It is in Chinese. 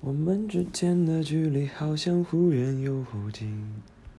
我们之间的距离好像忽远又忽近。